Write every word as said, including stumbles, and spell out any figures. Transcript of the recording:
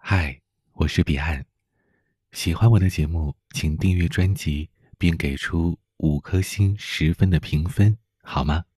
嗨，我是彼岸。喜欢我的节目，请订阅专辑，并给出五颗星十分的评分，好吗？